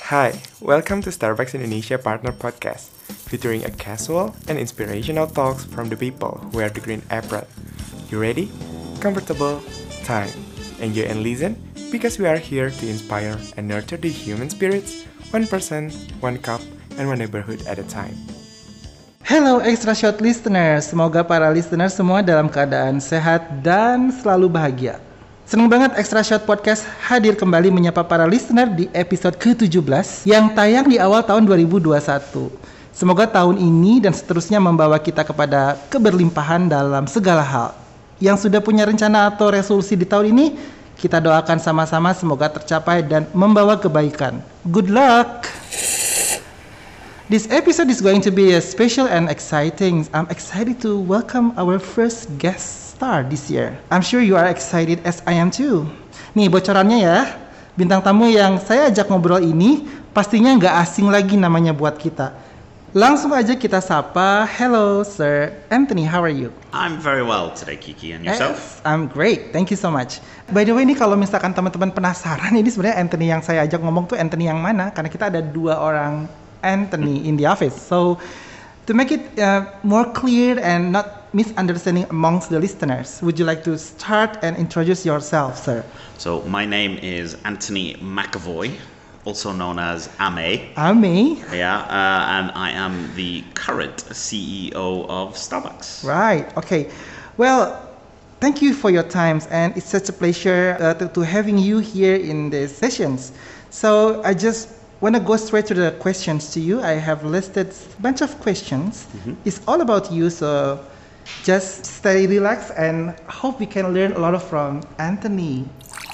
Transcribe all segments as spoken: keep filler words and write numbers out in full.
Hi, welcome to Starbucks Indonesia Partner Podcast, featuring a casual and inspirational talks from the people who wear the green apron. You ready? Comfortable? Time. Enjoy and listen, because we are here to inspire and nurture the human spirits, one person, one cup, and one neighborhood at a time. Hello Extra Shot listeners, semoga para listeners semua dalam keadaan sehat dan selalu bahagia. Senang banget Extra Shot Podcast hadir kembali menyapa para listener di episode ke tujuh belas yang tayang di awal tahun dua ribu dua puluh satu. Semoga tahun ini dan seterusnya membawa kita kepada keberlimpahan dalam segala hal. Yang sudah punya rencana atau resolusi di tahun ini, kita doakan sama-sama semoga tercapai dan membawa kebaikan. Good luck! This episode is going to be a special and exciting. I'm excited to welcome our first guest star this year. I'm sure you are excited as I am too. Nih bocorannya ya, bintang tamu yang saya ajak ngobrol ini pastinya nggak asing lagi namanya buat kita. Langsung aja kita sapa. Hello Sir Anthony, how are you? I'm very well today, Kiki, and yourself? Yes, I'm great, thank you so much. By the way, ini kalau misalkan teman-teman penasaran, ini sebenarnya Anthony yang saya ajak ngomong tuh Anthony yang mana? Karena kita ada dua orang Anthony in the office. So to make it uh, more clear and not misunderstanding amongst the listeners, would you like to start and introduce yourself, sir? So my name is Anthony McAvoy, also known as Ame. Ame. Yeah, uh, and I am the current C E O of Starbucks. Right. Okay. Well, thank you for your time, and it's such a pleasure uh, to, to having you here in these sessions. So I just want to go straight to the questions to you. I have listed a bunch of questions. Mm-hmm. It's all about you, so just stay relaxed and hope we can learn a lot from Anthony.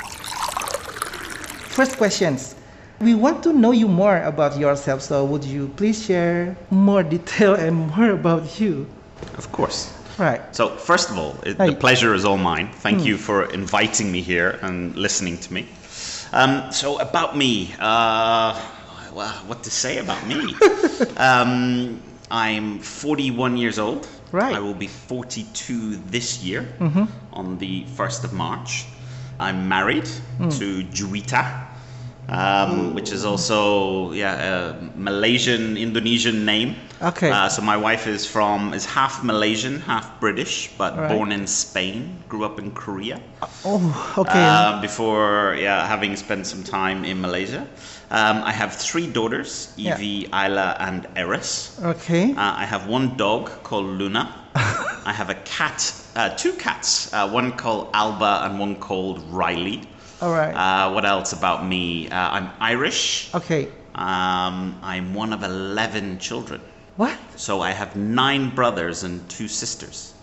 First questions. We want to know you more about yourself, so would you please share more detail and more about you? Of course. Right. So first of all, it, Hi. the pleasure is all mine. Thank Hmm. you for inviting me here and listening to me. Um, so about me, uh, well, what to say about me? um, I'm forty-one years old. Right. I will be forty-two this year, Mm-hmm. on the first of March. I'm married Mm. to Juwita, um, which is also yeah a Malaysian Indonesian name. Okay. Uh, so my wife is from is half Malaysian, half British, but Right. born in Spain. Grew up in Korea. Oh, okay. Uh, before yeah having spent some time in Malaysia. Um, I have three daughters, Yeah. Evie, Isla, and Eris. Okay. Uh, I have one dog called Luna. I have a cat, uh, two cats, uh, one called Alba and one called Riley. All right. Uh, what else about me? Uh, I'm Irish. Okay. Um, I'm one of eleven children. What? So I have nine brothers and two sisters.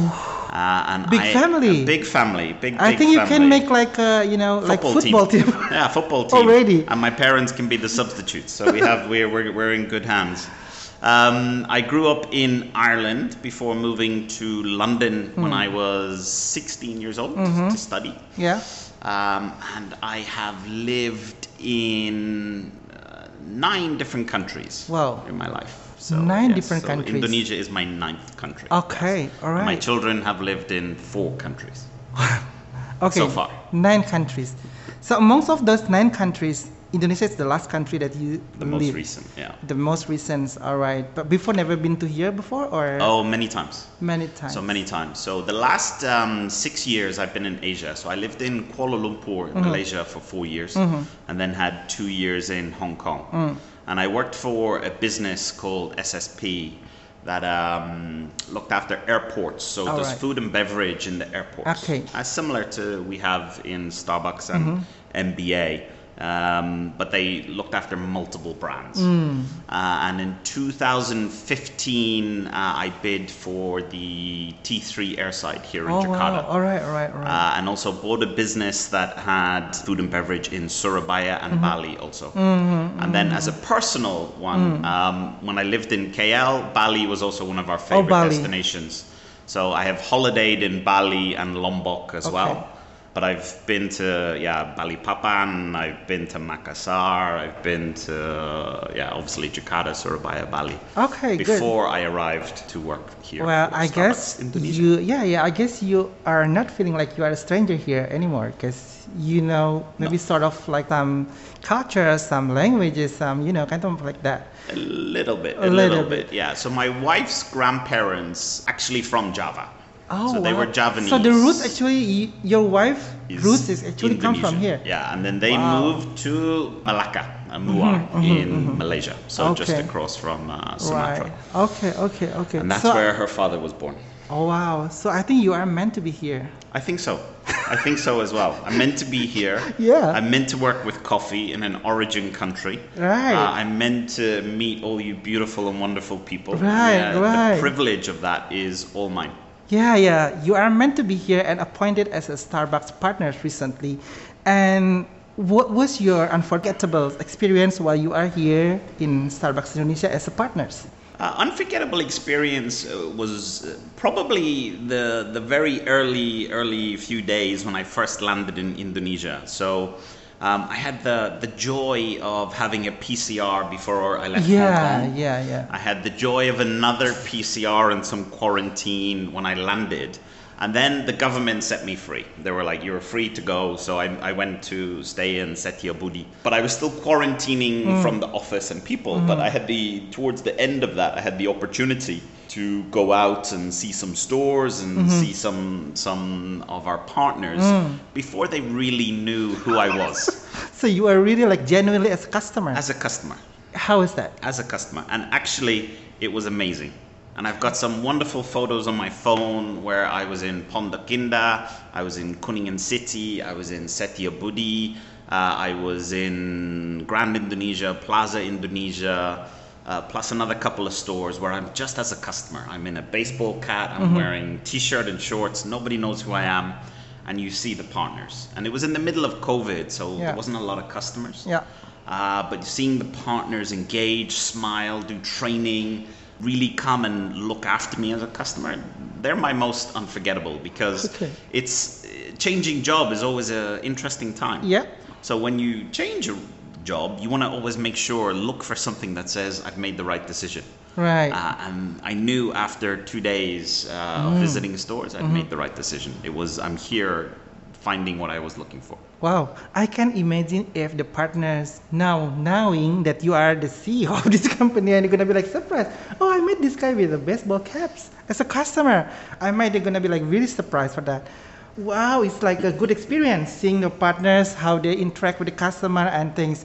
Uh, and Big I, family. A big family. Big, I big think you family. can make like a, you know, like football team. Yeah, football team. Already. And my parents can be the substitutes. So we have we're we're, we're in good hands. Um, I grew up in Ireland before moving to London when I was sixteen years old Mhm. to study. Yeah. Um, and I have lived in uh, nine different countries Wow. in my life. So, Nine yes, different so countries. Indonesia is my ninth country. Okay. All right. My children have lived in four countries. Okay. so far. Nine countries. So amongst of those nine countries, Indonesia is the last country that you The most live. recent, yeah. The most recent. All right. But before, never been to here before, or Oh, many times. many times. So many times. So the last um, six years I've been in Asia. So I lived in Kuala Lumpur, Mm-hmm. Malaysia for four years, Mhm. and then had two years in Hong Kong. Mm. And I worked for a business called S S P that um, looked after airports. So All does right. food and beverage in the airports. Okay. Uh, similar to we have in Starbucks and Mm-hmm. M B A. Um, but they looked after multiple brands. Mm. Uh, and in two thousand fifteen, uh, I bid for the T three airside here in Oh Jakarta. wow. All right. All right. All right. Uh, and also bought a business that had food and beverage in Surabaya and Bali also. Mm-hmm. And then as a personal one, um, when I lived in K L, Bali was also one of our favorite Bali. destinations. So I have holidayed in Bali and Lombok as Okay. well. But I've been to, yeah, Balikpapan, I've been to Makassar, I've been to, uh, yeah, obviously Jakarta, Surabaya, Bali. Okay, good. Before I arrived to work here. Well, for I Starbucks guess Indonesia. you, yeah, yeah. I guess you are not feeling like you are a stranger here anymore, because you know maybe No. sort of like some culture, some languages, some you know kind of like that. A little bit, A a, little little, bit. bit. yeah. So my wife's grandparents actually from Java. Oh, so they wow. were Javanese. So the roots actually, y- your wife is roots is actually come from Indonesian. here. Yeah, and then they Wow. moved to Malacca, uh, Muar, in Malaysia. So just Okay. across from uh, Sumatra. Right. Okay. Okay. Okay. And that's so, where her father was born. Oh wow. So I think you are meant to be here. I think so. I think so as well. I'm meant to be here. Yeah. I'm meant to work with coffee in an origin country. Right. Uh, I'm meant to meet all you beautiful and wonderful people. Right, And, uh, right. The privilege of that is all mine. Yeah, yeah. You are meant to be here and appointed as a Starbucks partner recently. And what was your unforgettable experience while you are here in Starbucks Indonesia as a partners? Uh, unforgettable experience uh, was uh, probably the the very early early few days when I first landed in Indonesia. So um, I had the the joy of having a P C R before I left Hong Yeah, Kong. yeah, yeah. I had the joy of another P C R and some quarantine when I landed. And then the government set me free. They were like, you're free to go. So I, I went to stay in Setiabudi. But I was still quarantining from the office and people. But I had the, towards the end of that, I had the opportunity to go out and see some stores and see some, some of our partners before they really knew who I was So you are really like genuinely as a customer. as a customer. How is that? as a customer. And actually, it was amazing. And I've got some wonderful photos on my phone where I was in Pondok Indah, I was in Kuningan City, I was in Setiabudi, uh, I was in Grand Indonesia, Plaza Indonesia, uh, plus another couple of stores where I'm just as a customer. I'm in a baseball cap, I'm wearing t-shirt and shorts, nobody knows who I am, and you see the partners. And it was in the middle of COVID, so Yeah. there wasn't a lot of customers. Yeah. Uh, but seeing the partners engage, smile, do training, really come and look after me as a customer, they're my most unforgettable because Okay. it's uh, changing job is always an interesting time. Yeah. So when you change a job, you want to always make sure, look for something that says, I've made the right decision. Right. Uh, and I knew after two days uh, of visiting stores, I'd made the right decision. It was, I'm here finding what I was looking for. Wow, I can imagine if the partners now knowing that you are the C E O of this company and you're gonna be like surprised. Oh, I met this guy with the baseball caps as a customer. I might they're gonna be like really surprised for that. Wow, it's like a good experience seeing the partners how they interact with the customer and things.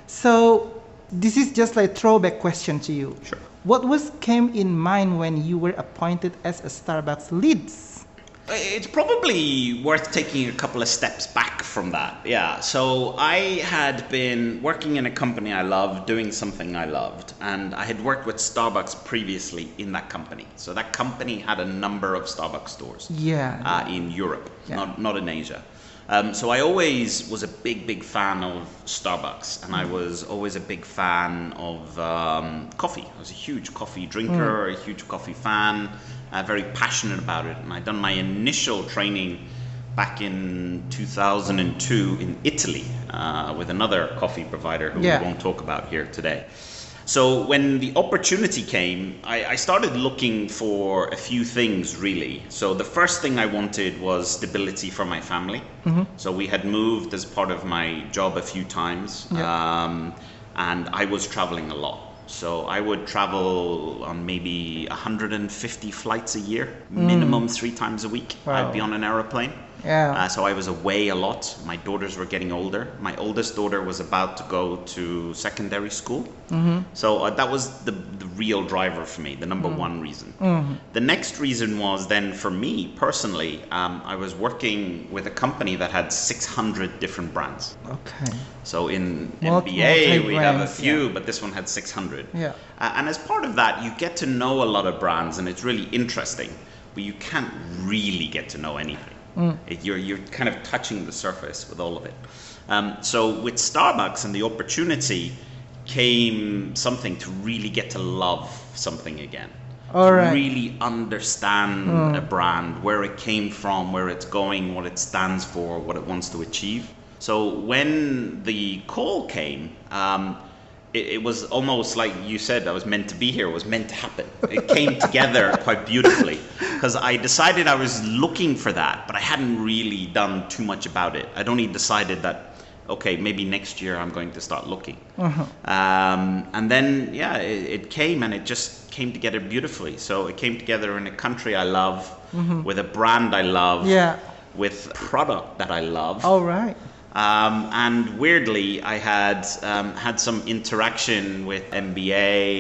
So this is just like a throwback question to you. Sure. What was came in mind when you were appointed as a Starbucks leads? It's probably worth taking a couple of steps back from that. Yeah. So I had been working in a company I loved, doing something I loved, and I had worked with Starbucks previously in that company. So that company had a number of Starbucks stores Yeah. uh, in Europe, Yeah. not not in Asia. Um, so I always was a big, big fan of Starbucks, and I was always a big fan of um, coffee. I was a huge coffee drinker, a huge coffee fan, uh, very passionate about it. And I'd done my initial training back in two thousand two in Italy uh, with another coffee provider who Yeah. we won't talk about here today. So when the opportunity came, I, I started looking for a few things really. So the first thing I wanted was stability for my family. So we had moved as part of my job a few times, Yeah. um, and I was traveling a lot. So I would travel on maybe one hundred fifty flights a year, minimum three times a week. Wow. I'd be on an aeroplane. Yeah. Uh, so I was away a lot. My daughters were getting older. My oldest daughter was about to go to secondary school. Mm-hmm. So uh, that was the, the real driver for me, the number mm. one reason. Mm-hmm. The next reason was then for me personally, um, I was working with a company that had six hundred different brands. Okay. So in Multi- M B A, we have a multi-brands, few, yeah. but this one had six hundred. Yeah. Uh, and as part of that, you get to know a lot of brands, and it's really interesting, but you can't really get to know anything. Mm. It, you're, you're kind of touching the surface with all of it. Um, so with Starbucks and the opportunity came something to really get to love something again. All to right. really understand Mm. a brand, where it came from, where it's going, what it stands for, what it wants to achieve. So when the call came, um, it, it was almost like you said, I was meant to be here, it was meant to happen. It came together quite beautifully, because I decided I was looking for that, but I hadn't really done too much about it. I'd only decided that, okay, maybe next year I'm going to start looking. Uh-huh. Um, and then, yeah, it, it came, and it just came together beautifully. So it came together in a country I love, Mm-hmm. with a brand I love, Yeah. with product that I love. All right. Um, and weirdly, I had um, had some interaction with M B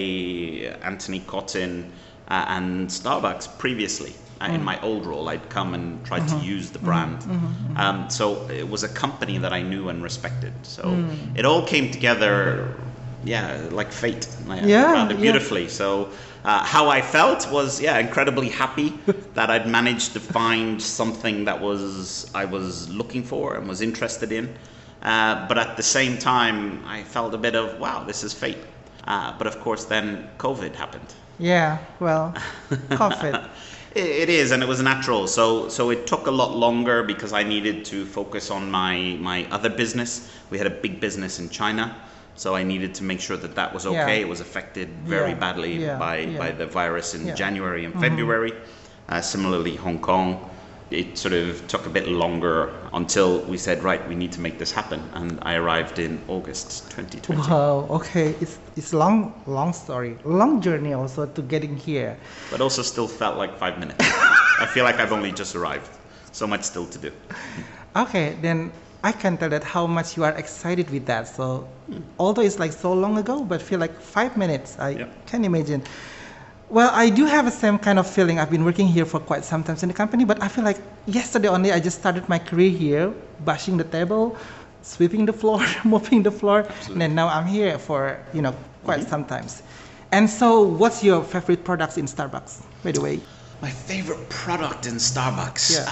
A, Anthony Cotton, uh, and Starbucks previously. Uh, In my old role, I'd come and tried to use the brand. Um, so it was a company that I knew and respected. So it all came together, yeah, like fate, like, Yeah, rather yeah. beautifully. So uh, how I felt was, yeah, incredibly happy that I'd managed to find something that was I was looking for and was interested in. Uh, but at the same time, I felt a bit of, wow, this is fate. Uh, but of course, then COVID happened. Yeah. Well, COVID. It, it is, and it was natural. So, so it took a lot longer because I needed to focus on my my other business. We had a big business in China, so I needed to make sure that that was okay. Yeah. It was affected very Yeah, badly yeah, by yeah. by the virus in Yeah. January and February. Uh, similarly, Hong Kong. It sort of took a bit longer until we said, right, we need to make this happen. And I arrived in August twenty twenty. Wow. Okay. It's it's long long story, long journey also to getting here. But also still felt like five minutes. I feel like I've only just arrived. So much still to do. Okay, then I can tell that how much you are excited with that. So, although it's like so long ago, but feel like five minutes. I Yep. can imagine. Well, I do have the same kind of feeling. I've been working here for quite some time in the company, but I feel like yesterday only I just started my career here, bashing the table, sweeping the floor, mopping the floor, and then now I'm here for you know quite some times. And so, what's your favorite products in Starbucks, by the way? My favorite product in Starbucks? Yeah.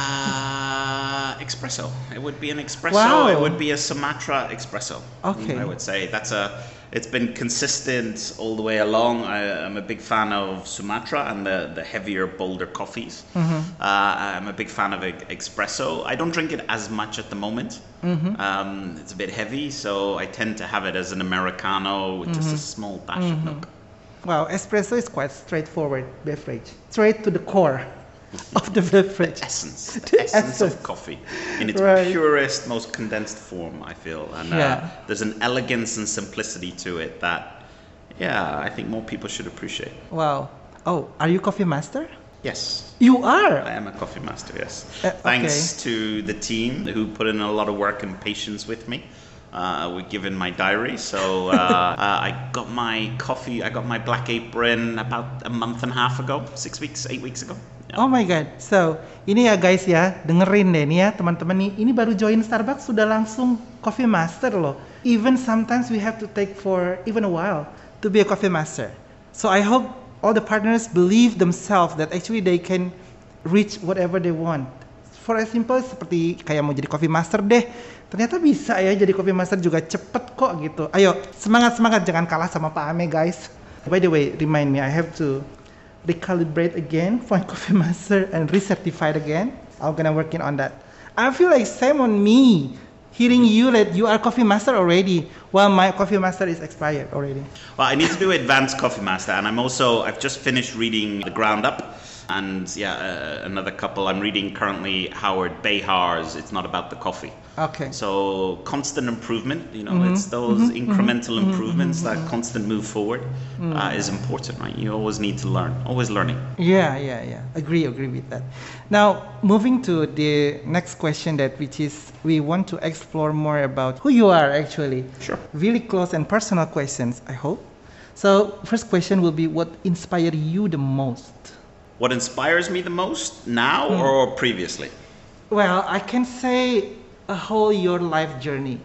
Uh, espresso. It would be an espresso. Wow. It would be a Sumatra espresso. Okay. I would say that's a. It's been consistent all the way along. I, I'm a big fan of Sumatra and the, the heavier, bolder coffees. Mm-hmm. Uh, I'm a big fan of e- espresso. I don't drink it as much at the moment. Mm-hmm. Um, it's a bit heavy, so I tend to have it as an Americano with just a small dash of milk. Wow, espresso is quite straightforward beverage, straight to the core of the beverage. Essence, The the essence essence. of coffee in its Right. purest, most condensed form, I feel. And uh, Yeah. there's an elegance and simplicity to it that, yeah, I think more people should appreciate. Wow. Oh, are you coffee master? Yes, You I are. am a coffee master, yes. Uh, Thanks to the team who put in a lot of work and patience with me. Uh, we give in my diary, so uh, uh, I got my coffee, I got my black apron about a month and a half ago, six weeks, eight weeks ago. Yeah. Oh my god. So, ini ya guys ya, dengerin deh nih ya teman-teman nih. Ini baru join Starbucks sudah langsung coffee master loh. Even sometimes we have to take for even a while to be a coffee master. So I hope all the partners believe themselves that actually they can reach whatever they want. For as simple seperti kayak mau jadi coffee master deh. Ternyata bisa ya jadi coffee master juga cepet kok gitu. Ayo semangat-semangat, jangan kalah sama Pak Ame guys. By the way, remind me I have to recalibrate again for coffee master and recertified again. I'm gonna working on that. I feel like same on me. Hearing you that you are coffee master already, while my coffee master is expired already. Well, I need to do advanced coffee master, and I'm also I've just finished reading The Ground Up, and yeah, uh, another couple. I'm reading currently Howard Behar's It's Not About the Coffee. Okay. So constant improvement, you know, it's those incremental improvements, that constant move forward uh, is important, right? You always need to learn, always learning. Yeah, yeah, yeah. Agree, agree with that. Now, moving to the next question that which is we want to explore more about who you are actually. Sure. Really close and personal questions, I hope. So, first question will be what inspired you the most? What inspires me the most now or previously? Well, I can say a whole your life journey.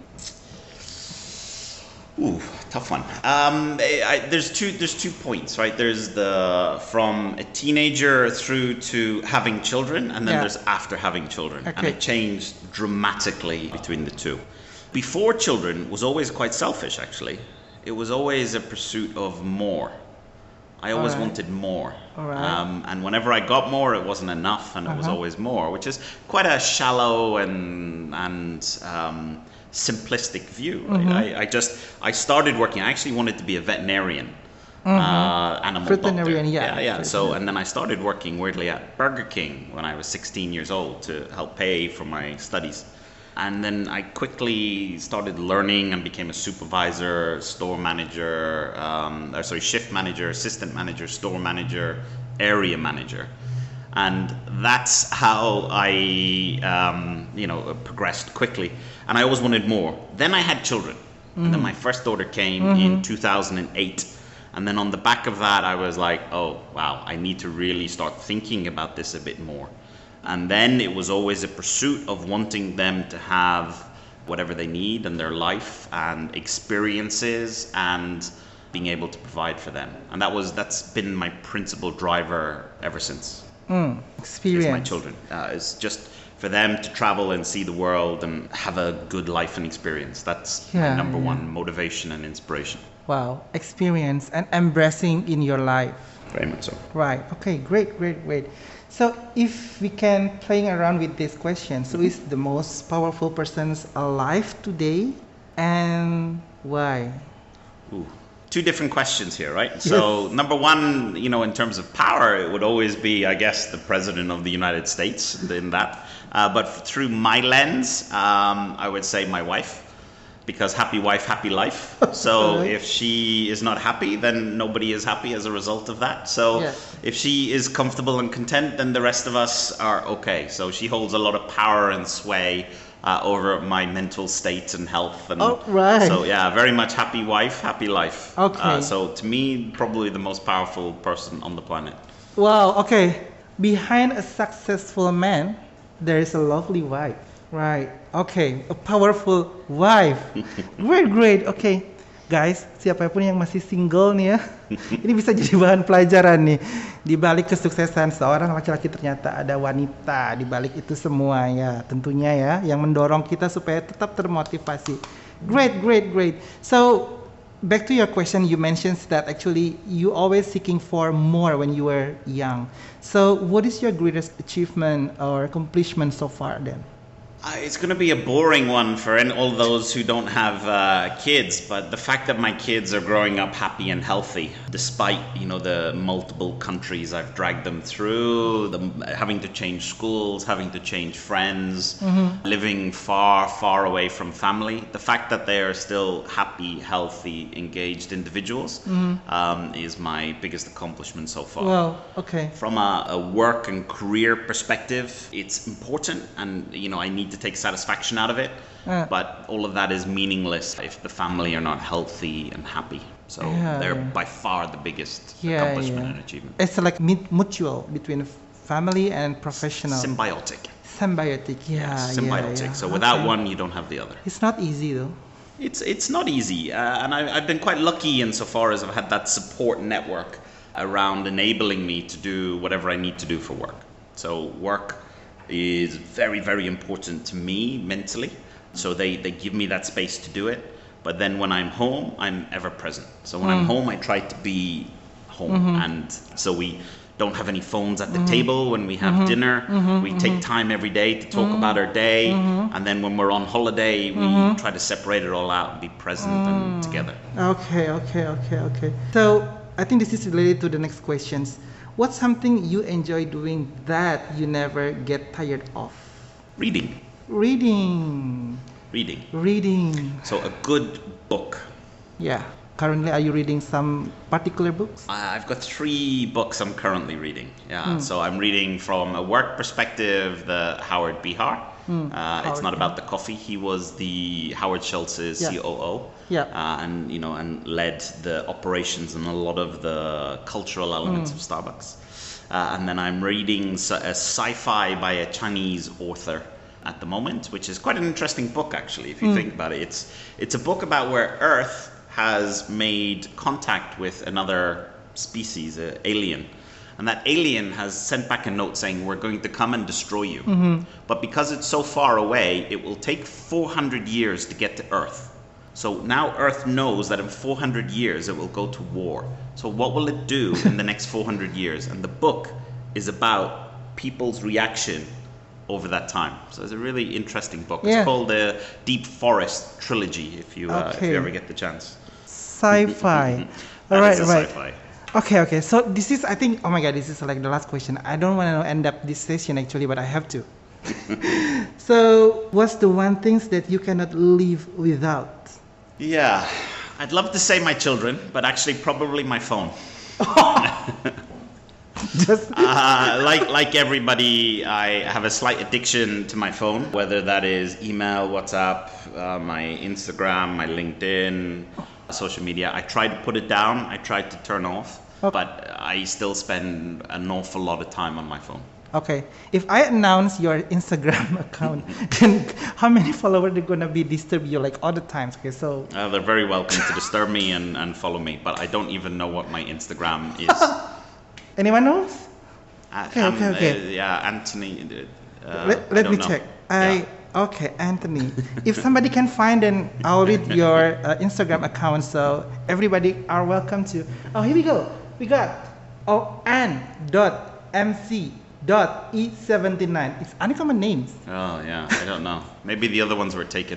Ooh, tough one. Um, I, I, there's two. There's two points, right? There's the from a teenager through to having children, and then Yeah. there's after having children, and Okay. it changed dramatically between the two. Before children was always quite selfish. Actually, it was always a pursuit of more. I always Alright. wanted more. Alright. Um, and whenever I got more, it wasn't enough, and it was Uh-huh. always more, which is quite a shallow and and um, simplistic view. Right? Mhm. I, I just I started working. I actually wanted to be a veterinarian, uh, animal Veterinarian, doctor. yeah. yeah, yeah. So and then I started working weirdly at Burger King when I was sixteen years old to help pay for my studies. And then I quickly started learning and became a supervisor, store manager, um, or sorry, shift manager, assistant manager, store manager, area manager. And that's how I, um, you know, progressed quickly. And I always wanted more. Then I had children. And then my first daughter came in two thousand eight. And then on the back of that, I was like, oh, wow, I need to really start thinking about this a bit more. And then it was always a pursuit of wanting them to have whatever they need in their life and experiences and being able to provide for them. And that was that's been my principal driver ever since. Mm, Is experience. my children. Uh, it's just for them to travel and see the world and have a good life and experience. That's Yeah, my number yeah. one motivation and inspiration. Wow, experience and embracing in your life. Very much so. Right. Okay. Great. Great. Great. So, if we can playing around with this question, who is the most powerful persons alive today, and why? Ooh. Two different questions here, right? So, number one, you know, in terms of power, it would always be, I guess, the president of the United States in that. Uh, but through my lens, um, I would say my wife. Because happy wife, happy life. So Right. if she is not happy, then nobody is happy as a result of that. So Yeah. if she is comfortable and content, then the rest of us are okay. So she holds a lot of power and sway uh, over my mental state and health. And Oh, right. So yeah, very much happy wife, happy life. Okay. Uh, so to me, probably the most powerful person on the planet. Wow. Okay. Behind a successful man, there is a lovely wife. Right. Okay. A powerful wife. Great, great. Okay. Guys, siapapun yang masih single nih ya, ini bisa jadi bahan pelajaran nih. Di balik kesuksesan seorang laki-laki ternyata ada wanita di balik itu semua ya, tentunya ya, yang mendorong kita supaya tetap termotivasi. Great, great, great. So, back to your question, you mentioned that actually you always seeking for more when you were young. So, what is your greatest achievement or accomplishment so far then? Uh, it's going to be a boring one for any, all those who don't have uh, kids, but the fact that my kids are growing up happy and healthy, despite you know the multiple countries I've dragged them through, them having to change schools, having to change friends, mm-hmm. living far, far away from family, the fact that they are still happy, healthy, engaged individuals mm-hmm. um, is my biggest accomplishment so far. Well, okay. From a, a work and career perspective, it's important, and you know I need to take satisfaction out of it, Uh. but all of that is meaningless if the family are not healthy and happy. So Yeah, they're yeah. by far the biggest Yeah, accomplishment yeah. and achievement. It's like mut- mutual between family and professional. Symbiotic. Symbiotic, yeah, Yeah, yeah, symbiotic. yeah. So without Okay. one, you don't have the other. It's not easy though. It's it's not easy, uh, and I, I've been quite lucky insofar as I've had that support network around enabling me to do whatever I need to do for work. So work is very, very important to me mentally. So they, they give me that space to do it. But then when I'm home, I'm ever present. So when I'm home, I try to be home. Mm-hmm. And so we don't have any phones at the mm-hmm. table when we have mm-hmm. dinner. Mm-hmm. We take time every day to talk mm-hmm. about our day. Mm-hmm. And then when we're on holiday, we mm-hmm. try to separate it all out and be present mm. and together. Okay, okay, okay, okay. So I think this is related to the next questions. What's something you enjoy doing that you never get tired of? Reading. Reading. Reading. Reading. So a good book. Yeah. Currently, are you reading some particular books? I've got three books I'm currently reading. Yeah. Mm. So I'm reading from a work perspective, the Howard Behar. Mm. Uh, Howard, it's not about yeah. the coffee. He was the Howard Schultz's yeah. C O O. Yeah. Uh, and you know, and led the operations and a lot of the cultural elements mm. of Starbucks. Uh, and then I'm reading a sci-fi by a Chinese author at the moment, which is quite an interesting book actually, if you mm. think about it. It's it's a book about where Earth has made contact with another species, an alien. And that alien has sent back a note saying, we're going to come and destroy you. Mm-hmm. But because it's so far away, it will take four hundred years to get to Earth. So now Earth knows that in four hundred years it will go to war. So what will it do in the next four hundred years? And the book is about people's reaction over that time. So it's a really interesting book. Yeah. It's called the Deep Forest Trilogy, if you uh, if Okay. you ever get the chance. Sci-fi. That All right, is a right. sci-fi. Okay, okay. So this is, I think, oh my God, this is like the last question. I don't want to end up this session actually, but I have to. So, what's the one things that you cannot live without? Yeah, I'd love to say my children, but actually probably my phone. Just Uh, like like everybody, I have a slight addiction to my phone, whether that is email, WhatsApp, uh, my Instagram, my LinkedIn, social media. I try to put it down. I try to turn off, Okay. but I still spend an awful lot of time on my phone. okay. If I announce your Instagram account, then how many followers are gonna be disturb you like all the times? Okay, so Uh, they're very welcome to disturb me and, and follow me, but I don't even know what my Instagram is. anyone knows? Uh, Okay, um, okay, okay. uh, yeah, Anthony. Uh, let I let don't me know. check. Yeah. I okay, Anthony. If somebody can find, then I'll read your uh, Instagram account. So everybody are welcome to. Oh, here we go. We got oh Ann dot mc dot e seventy nine. It's uncommon names. Oh yeah, I don't know. Maybe the other ones were taken.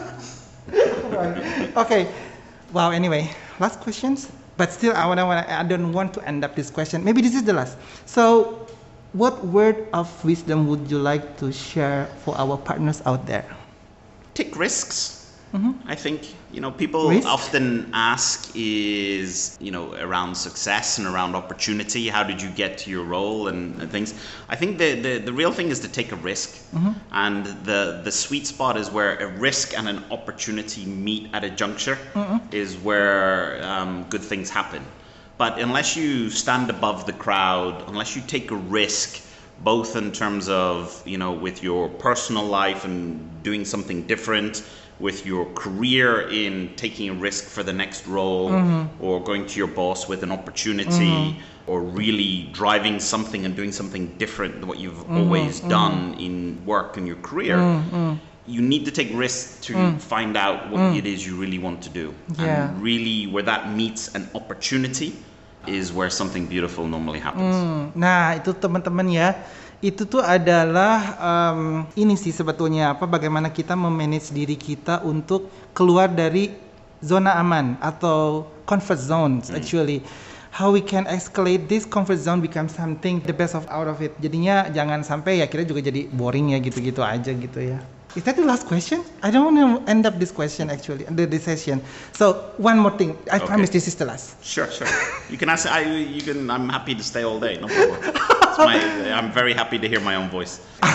Right. Okay. Wow. Anyway, last questions. But still, I wanna, wanna, I don't want to end up this question. Maybe this is the last. So, what word of wisdom would you like to share for our partners out there? Take risks. I think, you know, people Risk? often ask is, you know, around success and around opportunity. How did you get to your role and, and things? I think the, the, the real thing is to take a risk. And the, the sweet spot is where a risk and an opportunity meet at a juncture is where um, good things happen. But unless you stand above the crowd, unless you take a risk, both in terms of, you know, with your personal life and doing something different, with your career in taking a risk for the next role, or going to your boss with an opportunity, or really driving something and doing something different than what you've always done in work and your career, you need to take risks to find out what it is you really want to do. Yeah. And really where that meets an opportunity is where something beautiful normally happens. Hmm, Nah, itu teman-teman ya. Itu tuh adalah um, ini sih sebetulnya apa bagaimana kita memanage diri kita untuk keluar dari zona aman atau comfort zones actually. How we can escalate this comfort zone become something the best of out of it. Jadinya jangan sampai ya kita juga jadi boring ya gitu-gitu aja gitu ya. Is that the last question? I don't want to end up this question actually, the, this session. So one more thing. I Okay. promise this is the last. Sure, sure. You can ask. I. You can. I'm happy to stay all day. No problem. It's my, I'm very happy to hear my own voice.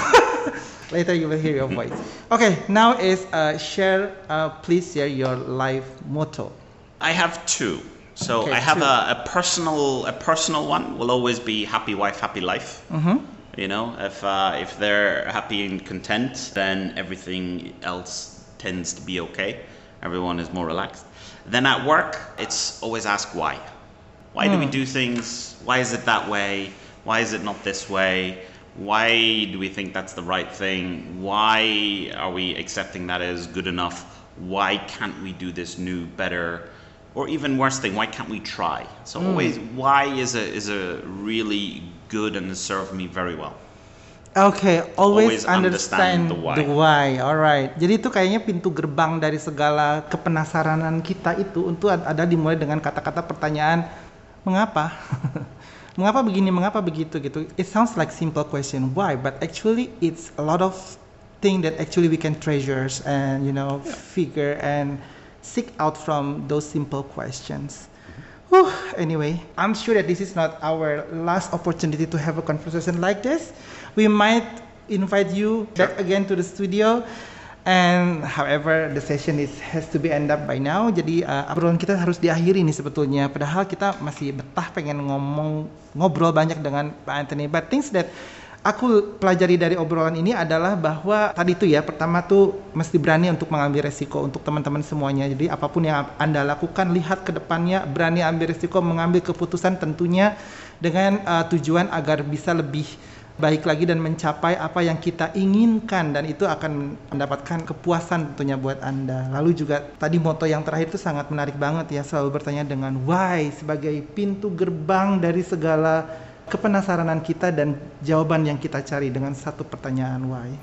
Later you will hear your voice. Okay, now is uh, share. Uh, please share your life motto. I have two. So Okay, I have two. a, a personal. A personal one will always be happy wife, happy life. Mm-hmm. You know, if uh, if they're happy and content, then everything else tends to be okay. Everyone is more relaxed. Then at work, it's always ask why. Why do we do things? Why is it that way? Why is it not this way? Why do we think that's the right thing? Why are we accepting that as good enough? Why can't we do this new, better? Or even worse thing, why can't we try? So always, why is a is a really good and has served me very well. Okay, always, Always understand, understand the why. the why. Alright. Jadi itu kayaknya pintu gerbang dari segala kepenasaranan kita itu untuk ad- ada dimulai dengan kata-kata pertanyaan mengapa? Mengapa begini, mengapa begitu gitu. It sounds like simple question why, but actually it's a lot of thing that actually we can treasure and you know figure and seek out from those simple questions. Whew, anyway, I'm sure that this is not our last opportunity to have a conversation like this. We might invite you back again to the studio. And however, the session is has to be end up by now. Jadi uh, obrolan kita harus diakhiri nih sebetulnya. Padahal kita masih betah pengen ngomong ngobrol banyak dengan Pak Anthony. But things that aku pelajari dari obrolan ini adalah bahwa tadi tuh ya, pertama tuh mesti berani untuk mengambil resiko untuk teman-teman semuanya. Jadi apapun yang Anda lakukan, lihat ke depannya, berani ambil resiko, mengambil keputusan tentunya dengan uh, tujuan agar bisa lebih baik lagi dan mencapai apa yang kita inginkan, dan itu akan mendapatkan kepuasan tentunya buat Anda. Lalu juga tadi moto yang terakhir itu sangat menarik banget ya, selalu bertanya dengan why sebagai pintu gerbang dari segala kepenasaranan kita dan jawaban yang kita cari dengan satu pertanyaan why.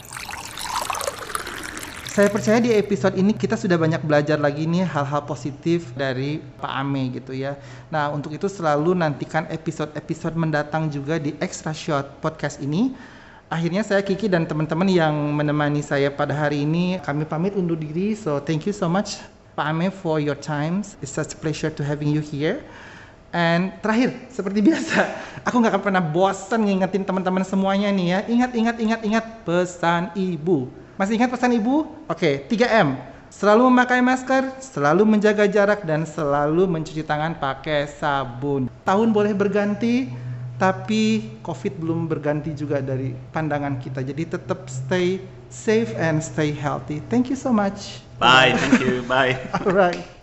Saya percaya di episode ini kita sudah banyak belajar lagi nih hal-hal positif dari Pak Ame gitu ya. Nah, untuk itu selalu nantikan episode-episode mendatang juga di Extra Shot Podcast ini. Akhirnya saya Kiki dan teman-teman yang menemani saya pada hari ini, kami pamit undur diri. So thank you so much Pak Ame for your time. It's such a pleasure to having you here. And terakhir, seperti biasa, aku gak akan pernah bosan ngingetin teman-teman semuanya nih ya. Ingat, ingat, ingat, ingat pesan ibu. Masih ingat pesan ibu? Oke, tiga M. Selalu memakai masker, selalu menjaga jarak, dan selalu mencuci tangan pakai sabun. Tahun boleh berganti, tapi COVID belum berganti juga dari pandangan kita. Jadi tetap stay safe and stay healthy. Thank you so much. Bye, thank you, bye. Alright.